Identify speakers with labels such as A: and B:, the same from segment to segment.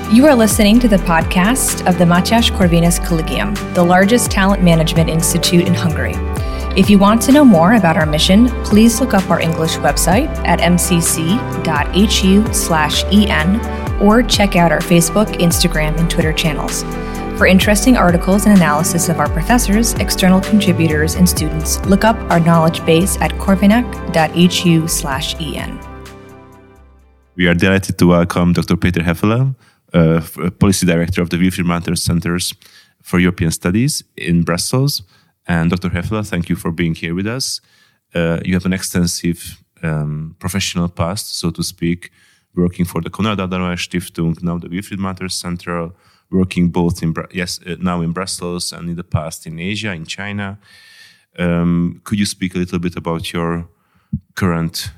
A: You are listening to the podcast of the Mátyás Corvinus Collegium, the largest talent management institute in Hungary. If you want to know more about our mission, please look up our English website at mcc.hu/en or check out our Facebook, Instagram, and Twitter channels. For interesting articles and analysis of our professors, external contributors, and students, look up our knowledge base at corvinak.hu/en.
B: We are delighted to welcome Dr. Péter Hefele, Policy Director of the Wilfried Martens Centers for European Studies in Brussels. And Dr. Hefele, thank you for being here with us. You have an extensive professional past, so to speak, working for the Konrad Adenauer Stiftung, now the Wilfried Martens Center, working both now in Brussels and in the past in Asia, in China. Could you speak a little bit about your current,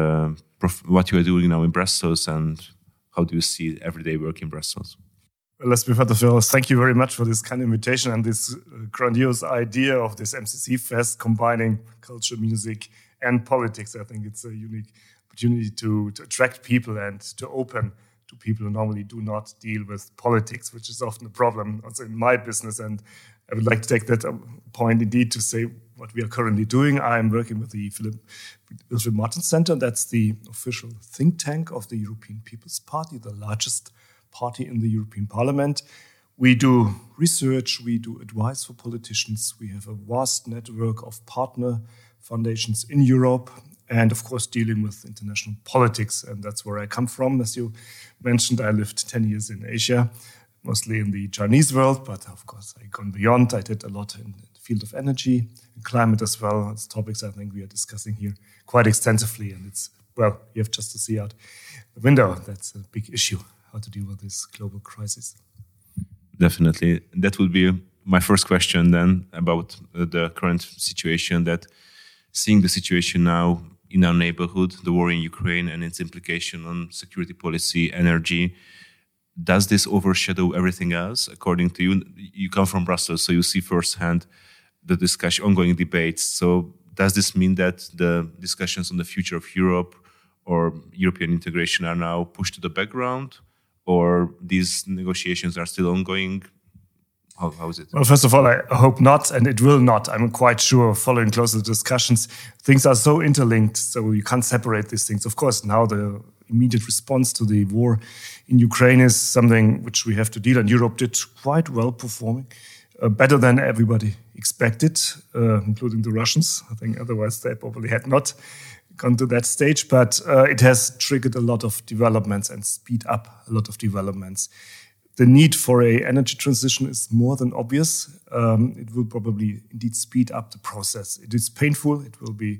B: what you are doing now in Brussels, and how do you see everyday work in Brussels?
C: Well, let's be first, thank you very much for this kind invitation and this grandiose idea of this MCC Fest combining culture, music, and politics. I think it's a unique opportunity to attract people and to open to people who normally do not deal with politics, which is often a problem also in my business. And I would like to take that point indeed to say what we are currently doing. I am working with the Wilfried Martens Center. That's the official think tank of the European People's Party, the largest party in the European Parliament. We do research, we do advice for politicians. We have a vast network of partner foundations in Europe and, of course, dealing with international politics. And that's where I come from. As you mentioned, I lived 10 years in Asia, mostly in the Chinese world, but of course, I gone beyond. I did a lot in the field of energy and climate as well. It's topics I think we are discussing here quite extensively. And it's, well, you have just to see out the window. That's a big issue, how to deal with this global crisis.
B: Definitely. That would be my first question then about the current situation, that seeing the situation now in our neighborhood, the war in Ukraine and its implication on security policy, energy, does this overshadow everything else? According to you, you come from Brussels, so you see firsthand the ongoing debates. So does this mean that the discussions on the future of Europe or European integration are now pushed to the background, or these negotiations are still ongoing? How is it?
C: Well, first of all, I hope not, and it will not. I'm quite sure, following closely the discussions, things are so interlinked, so you can't separate these things. Of course, now the immediate response to the war in Ukraine is something which we have to deal, and Europe did quite well performing, better than everybody expected, including the Russians. I think otherwise they probably had not gone to that stage, but it has triggered a lot of developments and speed up a lot of developments. The need for an energy transition is more than obvious. It will probably indeed speed up the process. It is painful. It will be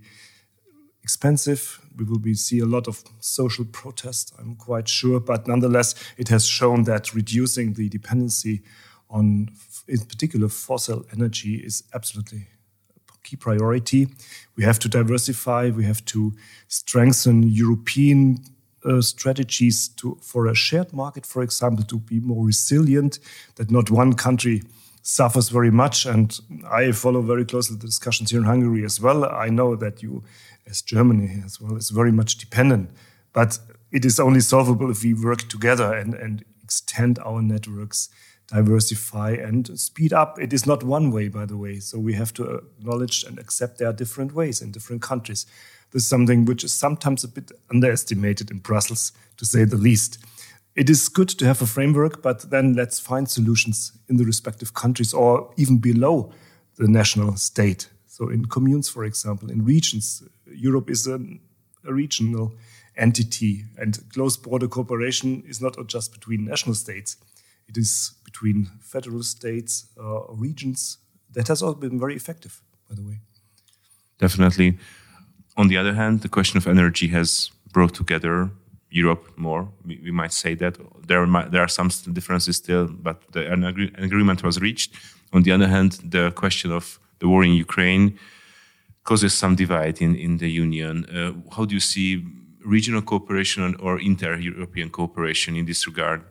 C: expensive. We will see a lot of social protest, I'm quite sure. But nonetheless, it has shown that reducing the dependency on, in particular, fossil energy is absolutely a key priority. We have to diversify. We have to strengthen European strategies for a shared market, for example, to be more resilient, that not one country suffers very much. And I follow very closely the discussions here in Hungary as well. I know that you, as Germany as well, is very much dependent. But it is only solvable if we work together and extend our networks, diversify and speed up. It is not one way, by the way. So we have to acknowledge and accept there are different ways in different countries. This is something which is sometimes a bit underestimated in Brussels, to say the least. It is good to have a framework, but then let's find solutions in the respective countries or even below the national state. So in communes, for example, in regions, Europe is a regional entity, and close border cooperation is not just between national states. It is between federal states, regions. That has also been very effective, by the way.
B: Definitely. On the other hand, the question of energy has brought together Europe more. We might say that there are some differences still, but an agreement was reached. On the other hand, the question of the war in Ukraine causes some divide in the Union. How do you see regional cooperation or inter-European cooperation in this regard?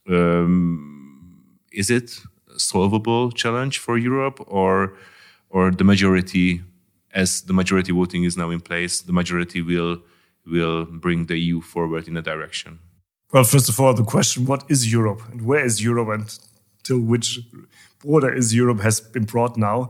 B: Is it a solvable challenge for Europe, or the majority? As the majority voting is now in place, the majority will bring the EU forward in a direction?
C: Well, first of all, the question, what is Europe and where is Europe and till which border is Europe has been brought now.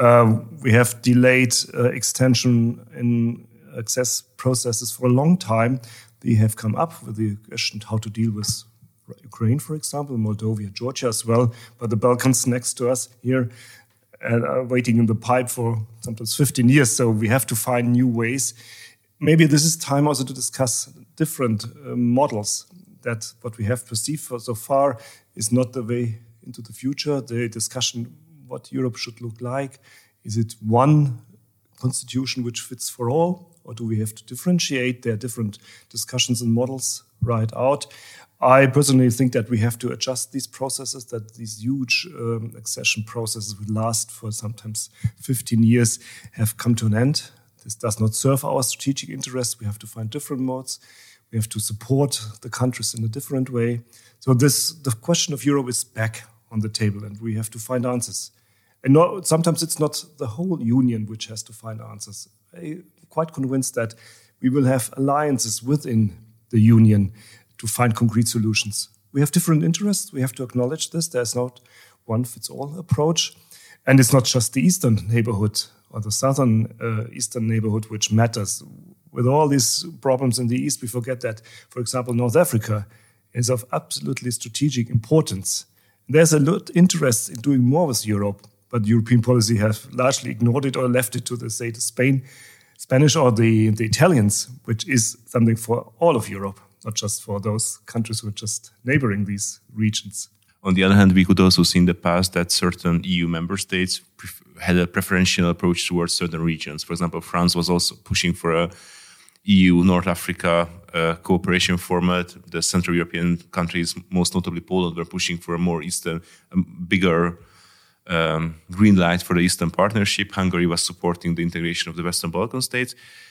C: We have delayed extension in access processes for a long time. They have come up with the question how to deal with Ukraine, for example, Moldova, Georgia as well, but the Balkans next to us here and are waiting in the pipe for sometimes 15 years. So we have to find new ways. Maybe this is time also to discuss different models. That what we have perceived for so far is not the way into the future. The discussion what Europe should look like. Is it one constitution which fits for all? Or do we have to differentiate? There are different discussions and models right out. I personally think that we have to adjust these processes, that these huge accession processes will last for sometimes 15 years, have come to an end. This does not serve our strategic interests. We have to find different modes. We have to support the countries in a different way. So the question of Europe is back on the table, and we have to find answers. And sometimes it's not the whole union which has to find answers. I'm quite convinced that we will have alliances within the union to find concrete solutions. We have different interests. We have to acknowledge this. There's not one-fits-all approach. And it's not just the eastern neighborhood or the southern eastern neighborhood which matters. With all these problems in the east, we forget that, for example, North Africa is of absolutely strategic importance. There's a lot of interest in doing more with Europe, but European policy has largely ignored it or left it to, the Spanish or the Italians, which is something for all of Europe, not just for those countries who are just neighboring these regions.
B: On the other hand, we could also see in the past that certain EU member states had a preferential approach towards certain regions. For example, France was also pushing for a EU North Africa cooperation format. The Central European countries, most notably Poland, were pushing for a more eastern, bigger green light for the Eastern Partnership. Hungary was supporting the integration of the Western Balkan states.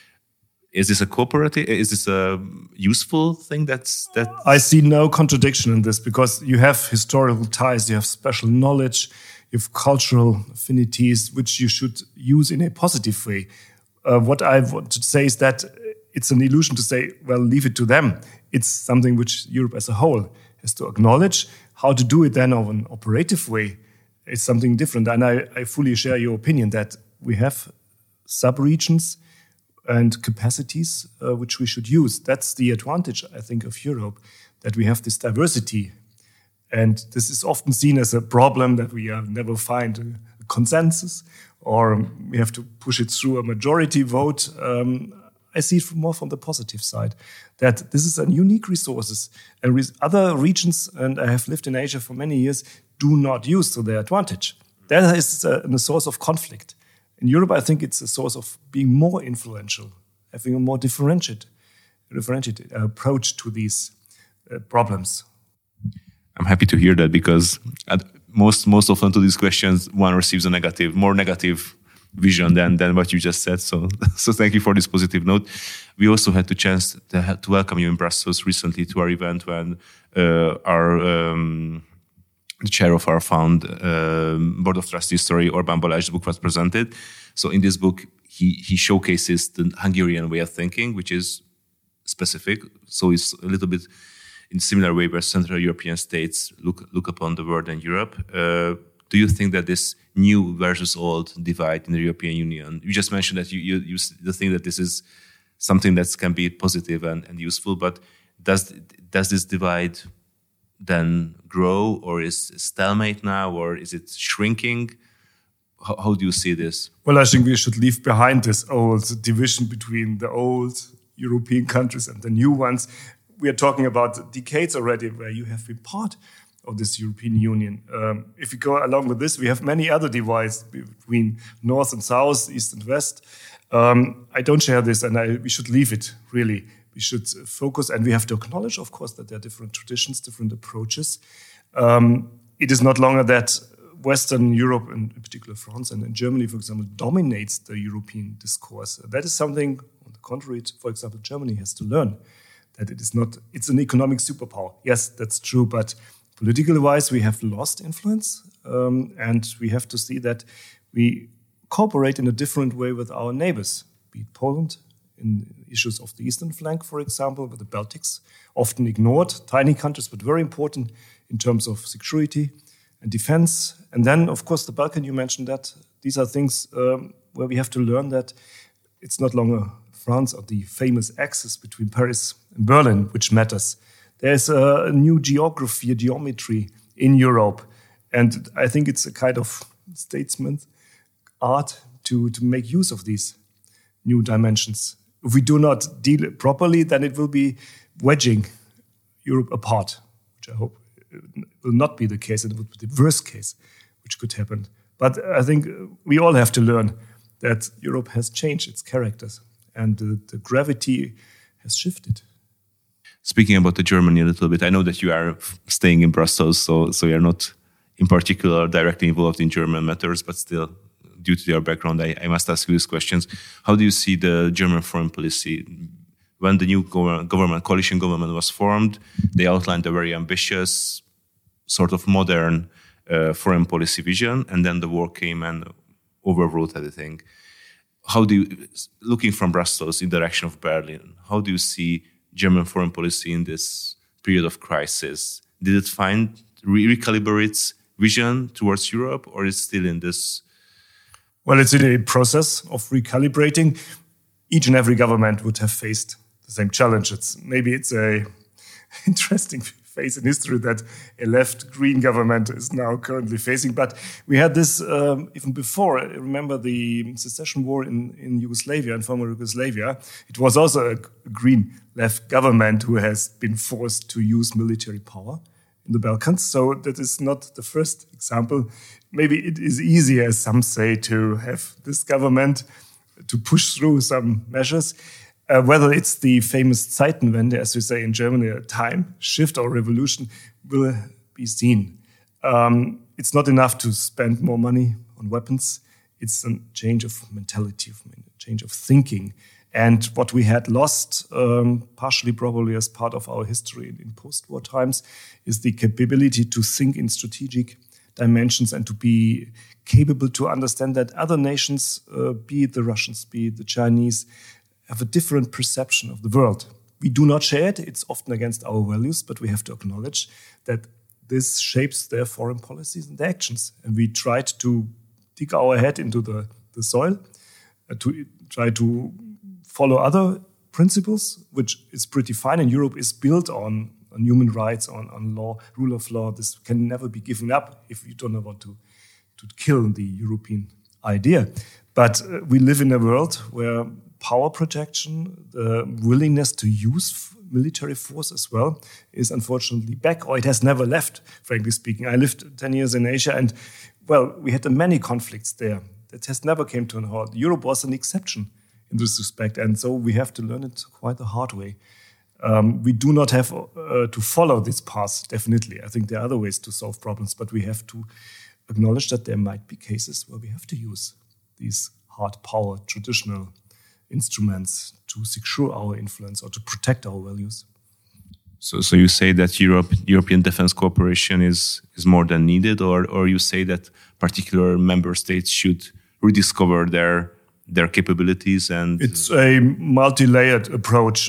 B: Is this a cooperative? Is this a useful thing?
C: I see no contradiction in this because you have historical ties, you have special knowledge, you have cultural affinities, which you should use in a positive way. What I want to say is that it's an illusion to say, well, leave it to them. It's something which Europe as a whole has to acknowledge. How to do it then of an operative way is something different. And I fully share your opinion that we have sub-regions and capacities which we should use. That's the advantage, I think, of Europe, that we have this diversity. And this is often seen as a problem that we never find a consensus or we have to push it through a majority vote. I see it more from the positive side, that this is a unique resources and other regions, and I have lived in Asia for many years, do not use to their advantage. That is a source of conflict. In Europe, I think it's a source of being more influential, having a more differentiated approach to these problems.
B: I'm happy to hear that because most often to these questions, one receives a more negative vision than what you just said. So thank you for this positive note. We also had the chance to welcome you in Brussels recently to our event when the chair of our board of trustees, Orbán Balázs's book was presented. So in this book, he showcases the Hungarian way of thinking, which is specific. So it's a little bit in similar way where Central European states look upon the world and Europe. Do you think that this new versus old divide in the European Union, you just mentioned that you think that this is something that can be positive and useful, but does this divide then grow, or is stalemate now, or is it shrinking? How do you see this?
C: Well, I think we should leave behind this old division between the old European countries and the new ones. We are talking about decades already where you have been part of this European Union. If we go along with this, we have many other divides between North and South, East and West. I don't share this, and we should leave it, really. We should focus, and we have to acknowledge, of course, that there are different traditions, different approaches. It is not longer that Western Europe, in particular France and in Germany, for example, dominates the European discourse. That is something, on the contrary, for example, Germany has to learn, that it is not, it's an economic superpower. Yes, that's true, but politically-wise, we have lost influence, and we have to see that we cooperate in a different way with our neighbors, be it Poland, in issues of the eastern flank, for example, with the Baltics, often ignored, tiny countries, but very important in terms of security and defense. And then, of course, the Balkan, you mentioned that. These are things where we have to learn that it's not longer France or the famous axis between Paris and Berlin, which matters. There's a new geography, a geometry in Europe. And I think it's a kind of statesman art to make use of these new dimensions. If we do not deal it properly, then it will be wedging Europe apart, which I hope will not be the case. It would be the worst case which could happen. But I think we all have to learn that Europe has changed its characters and the gravity has shifted.
B: Speaking about Germany a little bit, I know that you are staying in Brussels, so you're not in particular directly involved in German matters, but still, due to your background, I must ask you these questions. How do you see the German foreign policy? When the new coalition government was formed, they outlined a very ambitious, sort of modern foreign policy vision, and then the war came and overruled everything. How do you, looking from Brussels in the direction of Berlin, how do you see German foreign policy in this period of crisis? Did it find recalibrate its vision towards Europe, or is it still in this?
C: Well, it's in a process of recalibrating. Each and every government would have faced the same challenges. Maybe it's a interesting phase in history that a left-green government is now currently facing. But we had this even before. I remember the secession war in Yugoslavia, in former Yugoslavia. It was also a green left government who has been forced to use military power in the Balkans. So that is not the first example. Maybe it is easier, as some say, to have this government to push through some measures. Whether it's the famous Zeitenwende, as we say in Germany, a time shift or revolution, will be seen. It's not enough to spend more money on weapons. It's a change of mentality, a change of thinking. And what we had lost, partially probably as part of our history in post-war times, is the capability to think in strategic dimensions and to be capable to understand that other nations, be it the Russians, be it the Chinese, have a different perception of the world. We do not share it. It's often against our values, but we have to acknowledge that this shapes their foreign policies and their actions. And we tried to dig our head into the soil, to try to follow other principles, which is pretty fine. And Europe is built on human rights, on law, rule of law. This can never be given up if you don't want to kill the European idea. But we live in a world where power projection, the willingness to use military force as well, is unfortunately back, or it has never left, frankly speaking. I lived 10 years in Asia, and, well, we had many conflicts there. That has never came to an halt. Europe was an exception in this respect, and so we have to learn it quite the hard way. We do not have to follow this path, definitely. I think there are other ways to solve problems, but we have to acknowledge that there might be cases where we have to use these hard power, traditional instruments to secure our influence or to protect our values.
B: So you say that European defense cooperation is more than needed, or you say that particular member states should rediscover their capabilities? And
C: it's a multi-layered approach.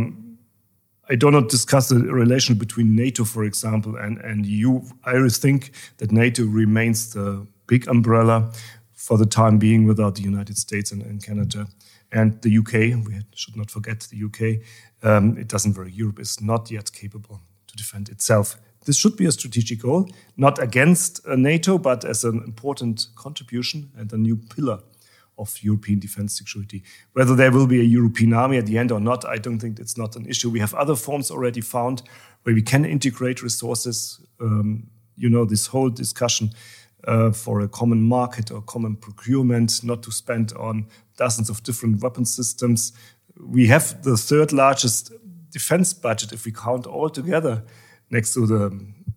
C: I do not discuss the relation between NATO, for example, and EU. I think that NATO remains the big umbrella for the time being without the United States and Canada. And the UK, we should not forget the UK, it doesn't work. Europe is not yet capable to defend itself. This should be a strategic goal, not against NATO, but as an important contribution and a new pillar of European defense security. Whether there will be a European army at the end or not, I don't think it's not an issue. We have other forms already found where we can integrate resources. This whole discussion for a common market or common procurement, not to spend on dozens of different weapon systems. We have the third largest defense budget if we count all together next to the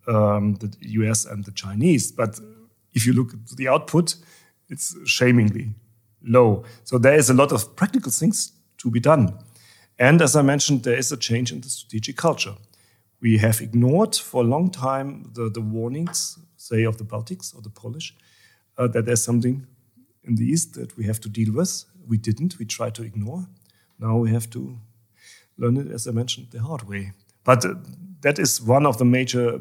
C: US and the Chinese. But if you look at the output, it's shamingly low. So there is a lot of practical things to be done. And as I mentioned, there is a change in the strategic culture. We have ignored for a long time the warnings, say, of the Baltics or the Polish, that there's something in the East that we have to deal with. We didn't. We tried to ignore Now we have to learn it, as I mentioned, the hard way. But that is one of the major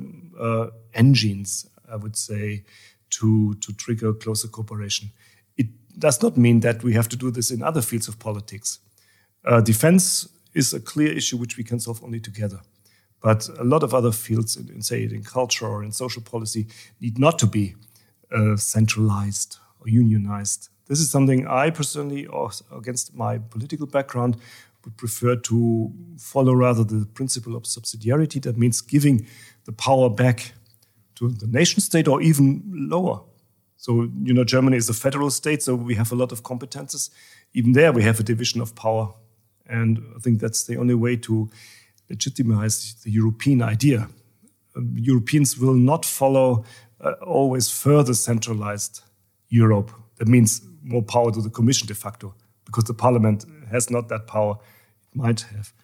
C: engines, I would say, to trigger closer cooperation. It does not mean that we have to do this in other fields of politics. Defense is a clear issue which we can solve only together. But a lot of other fields, in culture or in social policy, need not to be centralized or unionized. This is something I personally, against my political background, would prefer to follow rather the principle of subsidiarity. That means giving the power back to the nation state or even lower. So, Germany is a federal state, so we have a lot of competences. Even there, we have a division of power. And I think that's the only way to legitimize the European idea. Europeans will not follow always further centralized Europe. That means more power to the Commission de facto, because the Parliament has not that power it might have.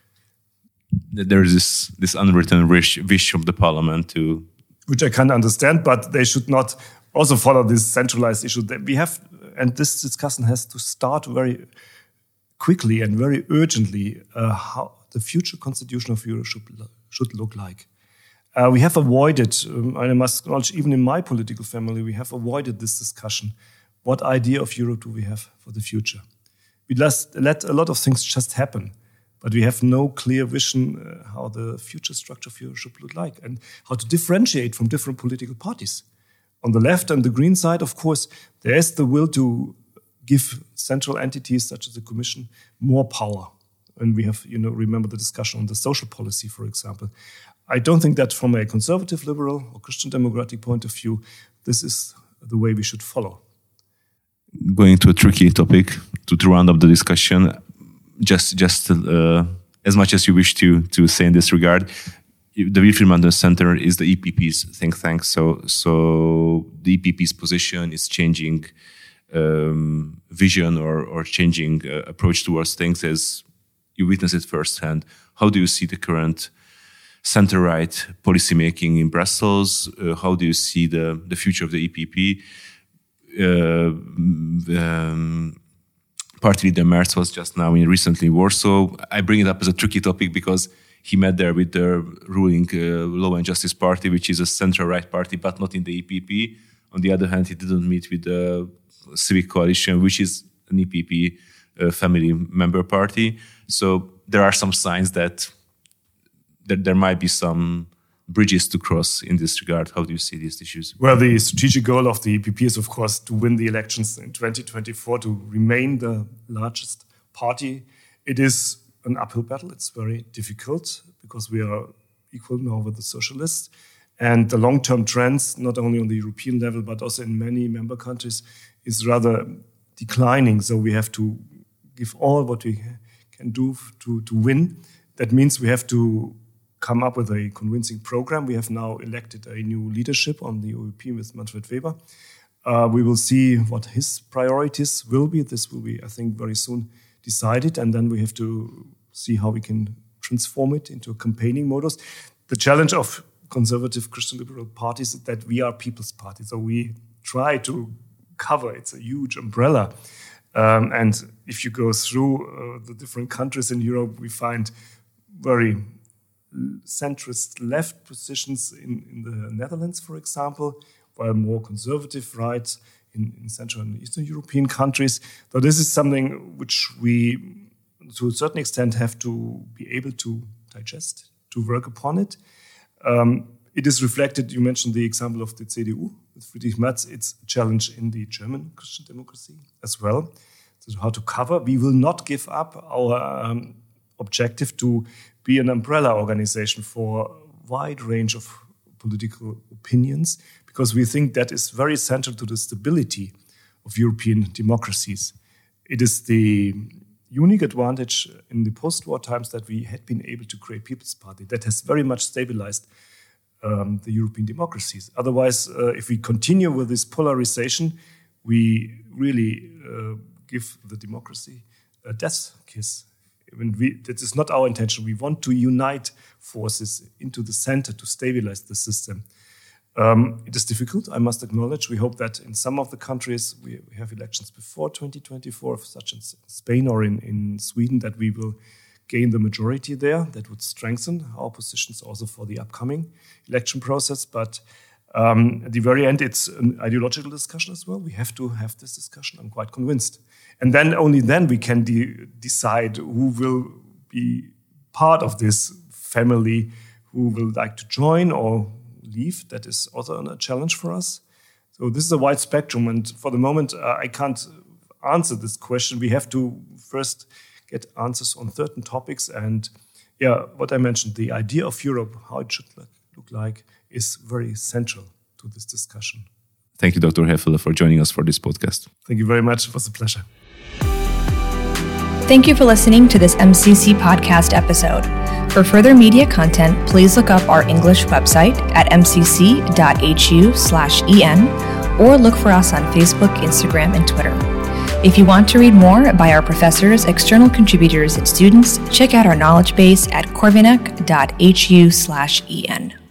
B: There is this unwritten wish of the Parliament to...
C: Which I can understand, but they should not also follow this centralized issue that we have. And this discussion has to start very quickly and very urgently how the future constitution of Europe should look like. We have avoided, and I must acknowledge, even in my political family, we have avoided this discussion. What idea of Europe do we have for the future? We let a lot of things just happen, but we have no clear vision how the future structure of Europe should look like and how to differentiate from different political parties. On the left and the green side, of course, there is the will to give central entities such as the Commission more power. And we have, remember the discussion on the social policy, for example. I don't think that from a conservative, liberal, or Christian democratic point of view, this is the way we should follow.
B: Going to a tricky topic to round up the discussion, just as much as you wish to say in this regard, the Wilfried Martens Center is the EPP's think tank. So the EPP's position is changing vision or changing approach towards things as you witness it firsthand. How do you see the current center-right policymaking in Brussels? How do you see the future of the EPP? Party leader Merz was just now recently in Warsaw. I bring it up as a tricky topic because he met there with the ruling Law and Justice Party, which is a center-right party, but not in the EPP. On the other hand, he didn't meet with the Civic Coalition, which is an EPP family member party. So there are some signs that there might be some bridges to cross in this regard. How do you see these issues?
C: Well, the strategic goal of the EPP is, of course, to win the elections in 2024, to remain the largest party. It is an uphill battle. It's very difficult because we are equal now with the socialists. And the long-term trends, not only on the European level, but also in many member countries, is rather declining. So we have to give all what we can do to win. That means we have to come up with a convincing program. We have now elected a new leadership on the OEP with Manfred Weber. We will see what his priorities will be. This will be, I think, very soon decided. And then we have to see how we can transform it into a campaigning modus. The challenge of conservative Christian liberal parties is that we are people's party. So we try to cover, it's a huge umbrella. And if you go through the different countries in Europe, we find very centrist left positions in the Netherlands, for example, while more conservative right in Central and Eastern European countries. So this is something which we, to a certain extent, have to be able to digest, to work upon it. It is reflected, you mentioned the example of the CDU with Friedrich Merz. It's a challenge in the German Christian democracy as well. So how to cover. We will not give up our objective to be an umbrella organization for a wide range of political opinions, because we think that is very central to the stability of European democracies. It is the unique advantage in the post-war times that we had been able to create People's Party that has very much stabilized the European democracies. Otherwise, if we continue with this polarization, we really give the democracy a death kiss. That is not our intention. We want to unite forces into the center to stabilize the system. It is difficult, I must acknowledge. We hope that in some of the countries we have elections before 2024, such as Spain or in Sweden, that we will gain the majority there. That would strengthen our positions also for the upcoming election process. But at the very end, it's an ideological discussion as well. We have to have this discussion, I'm quite convinced. And then only then we can decide who will be part of this family, who will like to join or leave. That is also a challenge for us. So this is a wide spectrum. And for the moment, I can't answer this question. We have to first get answers on certain topics. And what I mentioned, the idea of Europe, how it should look like, is very central to this discussion.
B: Thank you, Dr. Hefele, for joining us for this podcast.
C: Thank you very much. It was a pleasure.
A: Thank you for listening to this MCC podcast episode. For further media content, please look up our English website at mcc.hu/en or look for us on Facebook, Instagram, and Twitter. If you want to read more by our professors, external contributors, and students, check out our knowledge base at corvinec.hu/en.